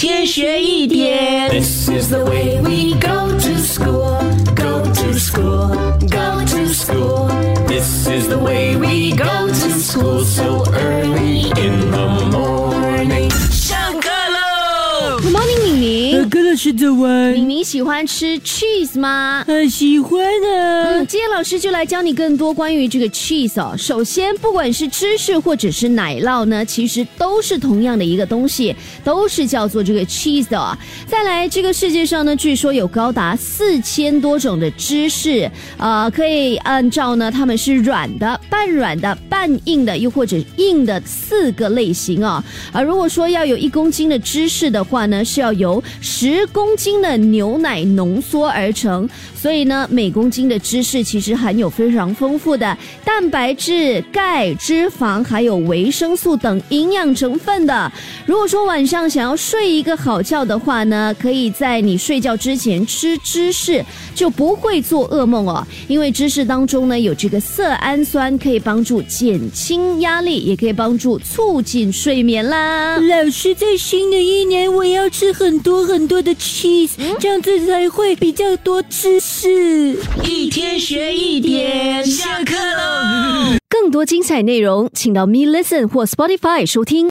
天学一点。 This is the way we go to school, go to school, go to school. This is the way we go to school so early in the morning. 上课喽 Good morning， 敏明。 柯老师早安。 敏明喜欢吃 cheese 吗？ 喜欢啊。 今天老师就来教你更多关于这个 cheese 哦。首先，不管是芝士或者是奶酪呢，其实都是同样的一个东西，都是叫做这个 cheese 的哦。再来，这个世界上呢，据说有高达4000多种的芝士，可以按照呢，它们是软的、半软的、半硬的，又或者硬的4个类型哦。如果说要有1公斤的芝士的话呢，是要由10公斤的牛奶浓缩而成，所以呢，每公斤的芝士其实含有非常丰富的蛋白质、钙、脂肪还有维生素等营养成分的。如果说晚上想要睡一个好觉的话呢，可以在你睡觉之前吃芝士，就不会做噩梦哦。因为芝士当中呢有这个色氨酸，可以帮助减轻压力，也可以帮助促进睡眠啦。 老师，在新的一年我要吃很多很多的 cheese，这样子才会比较多知识。 一天学一点，下课喽。 更多精彩内容，请到Me Listen 或 Spotify 收听。